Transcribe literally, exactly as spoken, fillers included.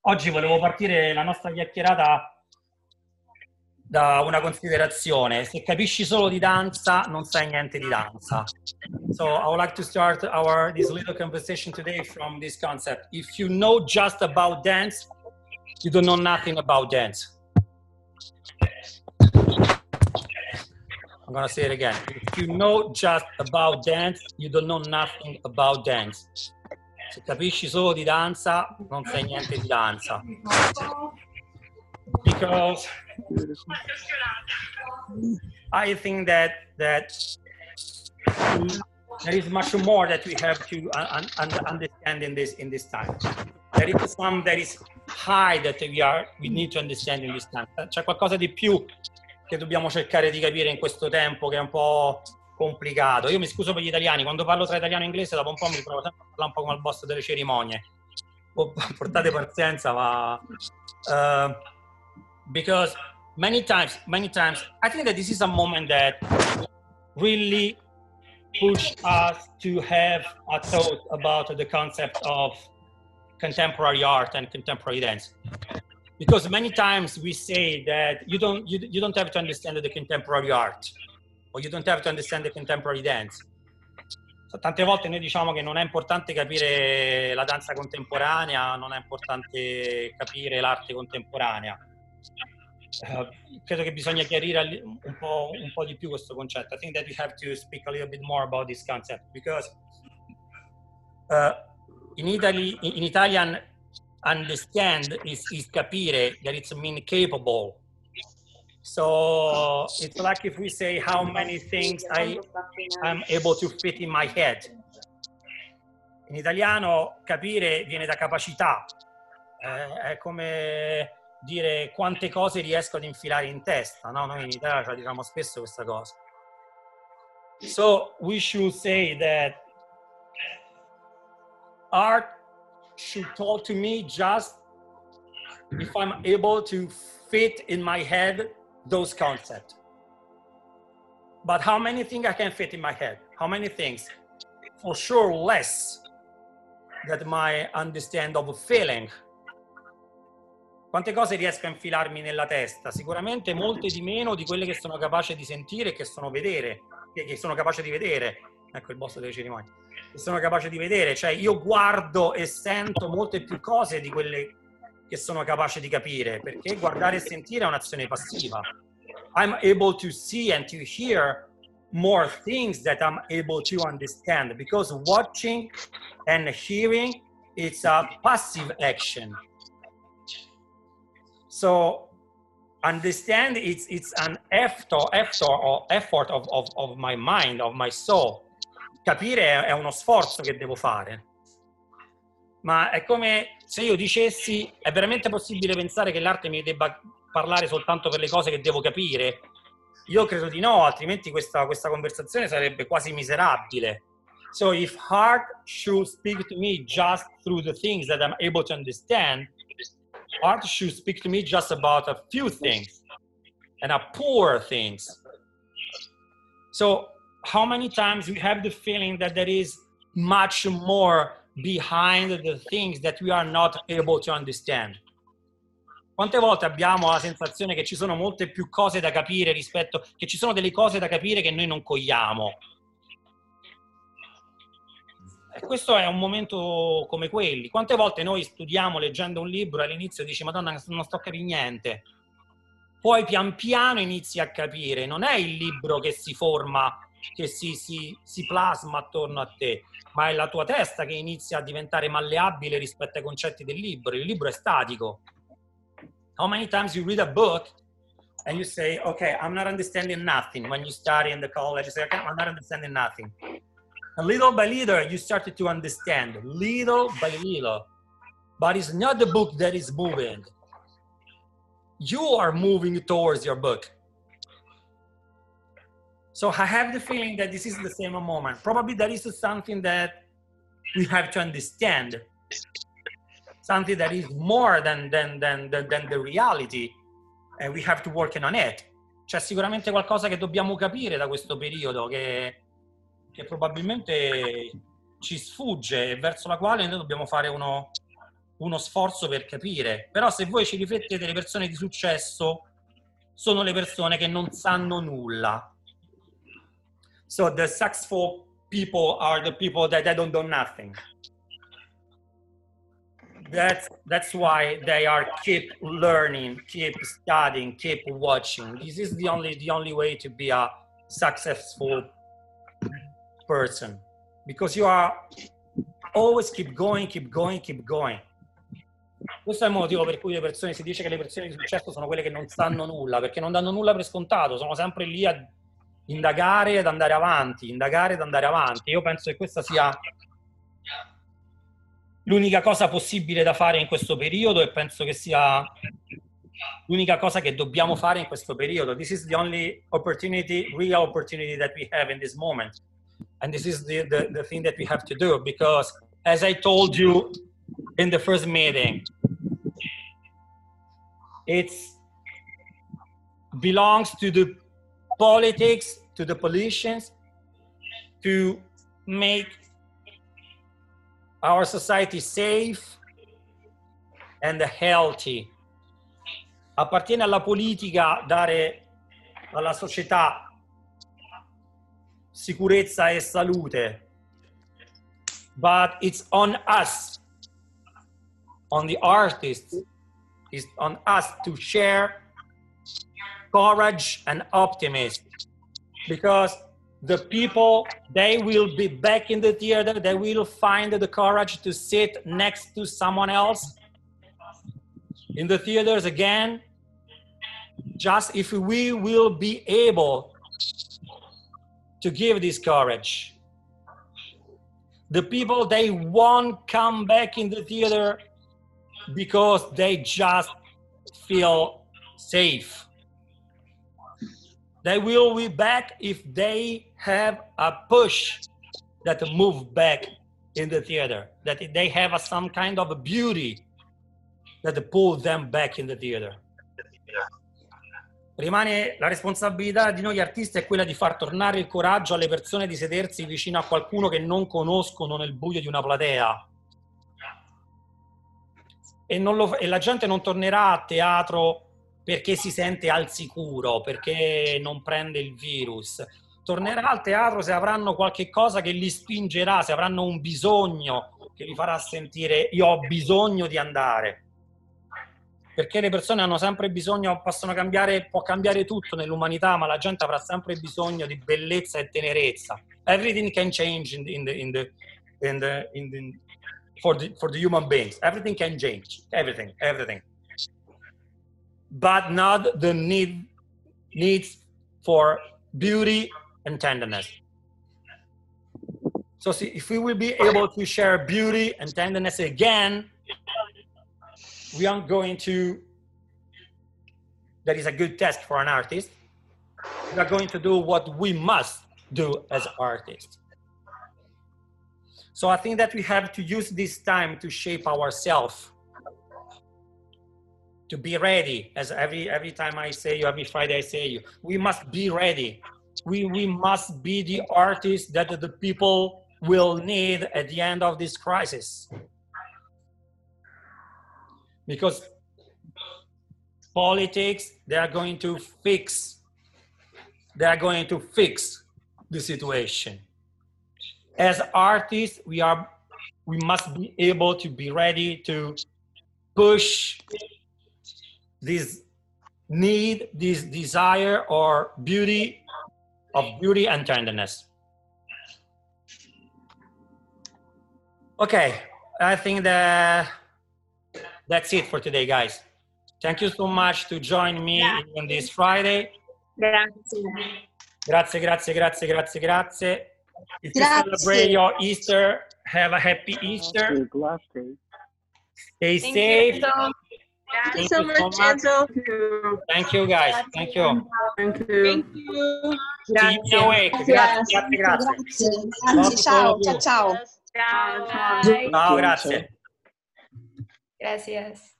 Oggi volevo partire la nostra chiacchierata da una considerazione. Se capisci solo di danza, non sai niente di danza. So I would like to start our this little conversation today from this concept. If you know just about dance, you don't know nothing about dance. I'm gonna say it again. If you know just about dance, you don't know nothing about dance. Se capisci solo di danza, non sai niente di danza. Because I think that that there is much more that we have to un un understand in this in this time. There is some that is high that we are we need to understand in this time. C'è qualcosa di più che dobbiamo cercare di capire in questo tempo che è un po' complicato. Io mi scuso per gli italiani, quando parlo tra italiano e inglese dopo un po' mi ritrovo sempre a parlare un po' come al boss delle cerimonie. Portate pazienza, ma uh, because many times, many times, I think that this is a moment that really push us to have a thought about the concept of contemporary art and contemporary dance. Because many times we say that you don't, you, you don't have to understand the contemporary art, or you don't have to understand the contemporary dance. So, tante volte noi diciamo che non è importante capire la danza contemporanea, non è importante capire l'arte contemporanea. Uh, credo che bisogna chiarire un po', un po' di più questo concetto. I think that we have to speak a little bit more about this concept because uh, in Italy, in Italian, understand is, is capire, that it's mean capable. So it's like if we say how many things I am able to fit in my head. In italiano capire viene da capacità, eh, è come dire quante cose riesco ad infilare in testa, no? Noi in Italia cioè, diciamo spesso questa cosa. So we should say that art should talk to me just if I'm able to fit in my head those concepts. But how many things I can fit in my head? How many things? For sure less than my understand of a feeling. Quante cose riesco a infilarmi nella testa? Sicuramente molte di meno di quelle che sono capace di sentire e che sono vedere, che sono capace di vedere. Ecco il boss delle cerimonie. Che sono capace di vedere, cioè io guardo e sento molte più cose di quelle che sono capace di capire, perché guardare e sentire è un'azione passiva. I'm able to see and to hear more things that I'm able to understand, because watching and hearing it's a passive action. So understand it's it's an effort effort or effort of, of, of my mind, of my soul. Capire è uno sforzo che devo fare. Ma è come se io dicessi, è veramente possibile pensare che l'arte mi debba parlare soltanto per le cose che devo capire? Io credo di no, altrimenti questa, questa conversazione sarebbe quasi miserabile. So if art should speak to me just through the things that I'm able to understand, art should speak to me just about a few things and a poor things. So how many times we have the feeling that there is much more behind the things that we are not able to understand? Quante volte abbiamo la sensazione che ci sono molte più cose da capire rispetto, che ci sono delle cose da capire che noi non cogliamo? E questo è un momento come quelli. Quante volte noi studiamo leggendo un libro e all'inizio dici Madonna non sto a capire niente. Poi pian piano inizi a capire. Non è il libro che si forma, che si, si, si plasma attorno a te, ma è la tua testa che inizia a diventare malleabile rispetto ai concetti del libro. Il libro è statico. How many times you read a book and you say, okay, I'm not understanding nothing. When you study in the college, you say, okay, I'm not understanding nothing. And little by little, you started to understand, little by little. But it's not the book that is moving. You are moving towards your book. So I have the feeling that this is the same moment. Probably there is something that we have to understand. Something that is more than, than, than, than, than the reality. And we have to work on it. C'è sicuramente qualcosa che dobbiamo capire da questo periodo che, che probabilmente ci sfugge e verso la quale noi dobbiamo fare uno, uno sforzo per capire. Però se voi ci riflettete, le persone di successo sono le persone che non sanno nulla. So the successful people are the people that they don't do nothing. That's, that's why they are keep learning, keep studying, keep watching. This is the only, the only way to be a successful person. Because you are always keep going, keep going, keep going. Questo è il motivo per cui le persone, si dice che le persone di successo sono quelle che non sanno nulla, perché non danno nulla per scontato, sono sempre lì a indagare ed andare avanti, indagare ed andare avanti. Io penso che questa sia l'unica cosa possibile da fare in questo periodo e penso che sia l'unica cosa che dobbiamo fare in questo periodo. This is the only opportunity, real opportunity that we have in this moment. And this is the, the, the thing that we have to do, because as I told you in the first meeting, it's belongs to the politics, to the politicians, to make our society safe and healthy. Appartiene alla politica dare alla società sicurezza e salute, but it's on us, on the artists, it's on us to share courage and optimism, because the people, they will be back in the theater, they will find the courage to sit next to someone else in the theaters again, just if we will be able to give this courage. The people, they won't come back in the theater because they just feel safe. They will be back if they have a push that move back in the theater, that they have a, some kind of a beauty that pull them back in the theater. Rimane la responsabilità di noi artisti è quella di far tornare il coraggio alle persone di sedersi vicino a qualcuno che non conoscono nel buio di una platea. E, non lo, e la gente non tornerà a teatro perché si sente al sicuro, perché non prende il virus. Tornerà al teatro se avranno qualche cosa che li spingerà, se avranno un bisogno che li farà sentire io ho bisogno di andare. Perché le persone hanno sempre bisogno, possono cambiare, può cambiare tutto nell'umanità, ma la gente avrà sempre bisogno di bellezza e tenerezza. Everything can change in the, in the, in the, in the, in the, for the, for the human beings. Everything can change. Everything, everything. But not the need, needs for beauty and tenderness. So see, if we will be able to share beauty and tenderness again, we aren't going to, that is a good test for an artist. We are going to do what we must do as artists. So I think that we have to use this time to shape ourselves, to be ready. As every, every time I say you, every Friday I say you, we must be ready. We, we must be the artists that the people will need at the end of this crisis. Because politics, they are going to fix, they are going to fix the situation. As artists, we are, we must be able to be ready to push this need, this desire or beauty of beauty and tenderness. Okay, I think that that's it for today, guys. Thank you so much to join me yeah. on this Friday. Grazie. Grazie, grazie, grazie, grazie, grazie. If you Grazie. celebrate your Easter, have a happy Easter. Stay Thank safe. You. Thank Thank you so you much, so much. Enzo. Thank you, guys. Thank you. Thank you. Thank you. See you in a week. Grazie, grazie, grazie. Grazie, ciao, ciao, ciao. Ciao. Ciao. Ciao, grazie. Gracias.